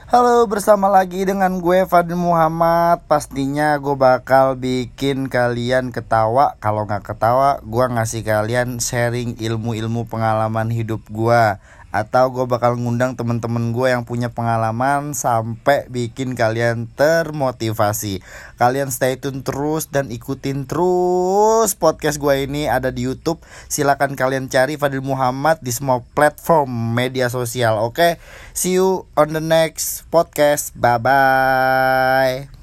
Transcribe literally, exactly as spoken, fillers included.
Halo, bersama lagi dengan gue Fadil Muhammad. Pastinya gue bakal bikin kalian ketawa. Kalau gak ketawa, gue ngasih kalian sharing ilmu-ilmu pengalaman hidup gue. Atau gue bakal ngundang temen-temen gue yang punya pengalaman sampai bikin kalian termotivasi. Kalian stay tune terus dan ikutin terus podcast gue ini. Ada di YouTube. Silakan kalian cari Fadil Muhammad di semua platform media sosial. Oke, see you on the next podcast. Bye bye.